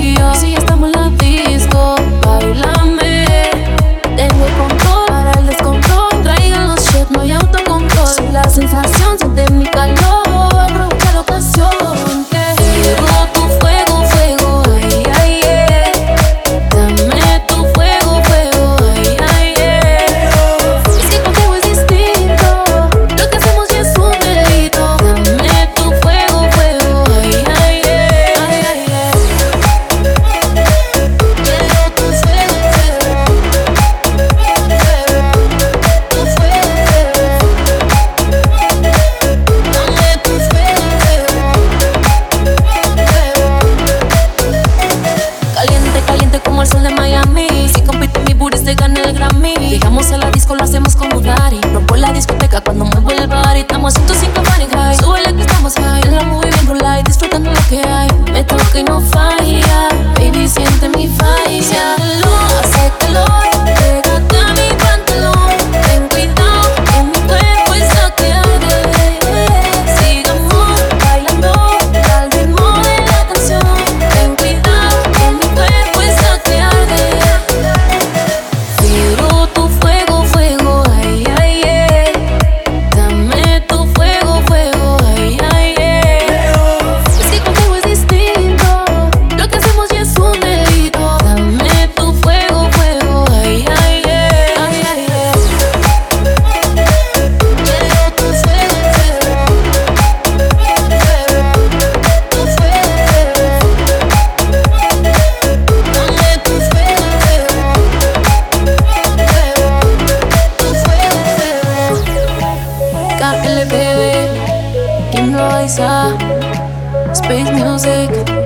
y yo. Si ya estamos en la disco, bailame. Tengo el control para el descontrol. Traigan los shit, no hay autocontrol. Si la sensación siente mi calor, aprovecha la ocasión. Fuego, tu fuego, fuego, ay, ay, dame tu fuego, fuego, ay, ay, es que contigo es distinto. Lo que hacemos ya es un delito. Dame tu fuego, fuego, ay, ay, ay, ay, quiero tu fuego, tu fuego, dame tu fuego, caliente, caliente como el sol de Miami. Si compite mi booty se gana el Grammy. Llegamos a la disco, lo hacemos como Daddy. Rompo la discoteca cuando muevo el body. Estamos a 105 Fahrenheit. Súbele que estamos high. En la movie bien roll light, disfrutando lo que hay. Me toca y no falla. Baby, siente mi falla. Hace calor, pégate a mi pantalón. Ten cuidado, que mi cuerpo está que arde. Sigamos bailando al ritmo de la canción. Ten cuidado, que mi cuerpo está que arde. Quiero tu fuego, fuego, ay, ay, dame tu fuego, fuego, ay, ay, es que contigo es distinto. Lo que hacemos ya es un delito. Dame tu fuego, fuego, ay, ay, ay, ay, quiero tu fuego, tu fuego, dame tu fuego, KLBB, Kim Loaiza, Space Music.